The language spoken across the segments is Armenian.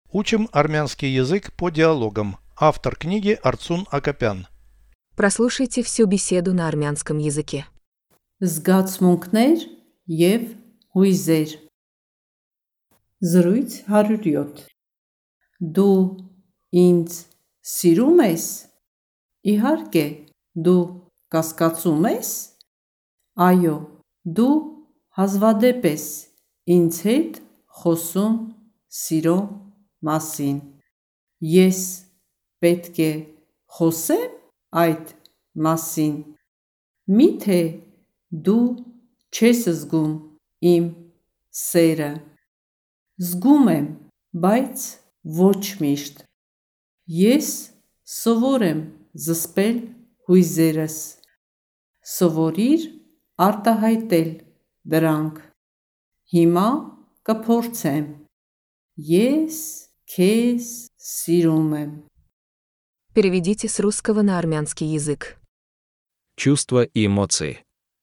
Учим армянский язык по диалогам. Автор книги Арцун Акопян. Прослушайте всю беседу на армянском языке. Զգացմունքներ և հույզեր։ Զրույց 107։ Դու ինձ սիրում ես։ Իհարկե, դու կասկածում ես։ Այո, դու հազվադեպ ես ինձ հետ խոսում սիրո մասին։ Ես պետք է խոսեմ այդ մասին։ Միթե դու չես զգում իմ սերը։ Զգում եմ, բայց ոչ միշտ։ Ես սովոր եմ զսպել հույզերս։ Սովորիր արտահայտել դրանք։ Հիմա կփորձեմ։ Ես քեզ սիրում եմ։ Переведите с русского на армянский язык. Чувства и эмоции.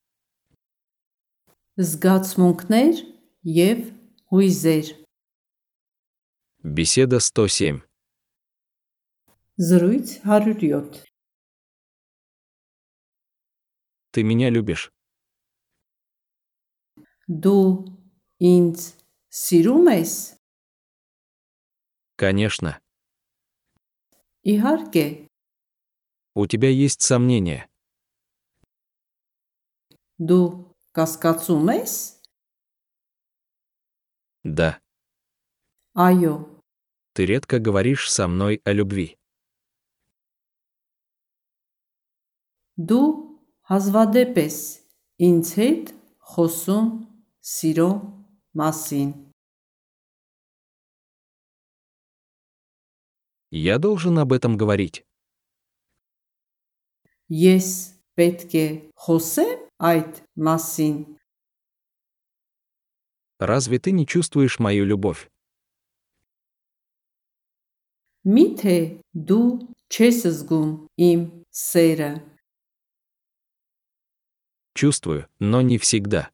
Զգացմունքներ և հույզեր։ Беседа 107. Զրույց 107։ Ты меня любишь? Դու ինձ սիրում ես։ Конечно. Իհարկե, У тебя есть сомнения. դու կասկածում ես։ Да. Այո, Ты редко говоришь со мной о любви. դու հազվադեպ ես ինձ հետ խոսում սիրո մասին։ Я должен об этом говорить. Ես պետք է խոսեմ այդ մասին։ Разве ты не чувствуешь мою любовь? Միթե դու չես զգում իմ սերը։ Чувствую, но не всегда.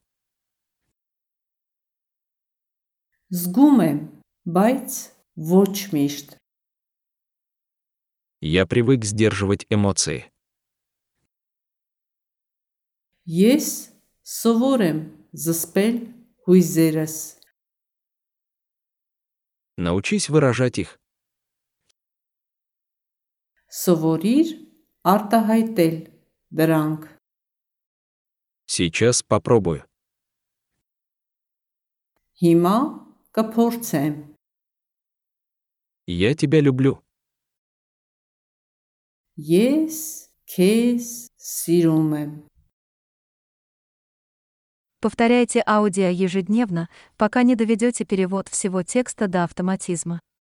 Զգում եմ, բայց ոչ միշտ։ Я привык сдерживать эмоции. Ես սովոր եմ զսպել հույզերս։ Научись выражать их. Սովորիր արտահայտել դրանք։ Сейчас попробую. Հիմա կփորձեմ։ Я тебя люблю. Ես քեզ սիրում եմ։ Повторяйте аудио ежедневно, пока не доведете перевод всего текста до автоматизма.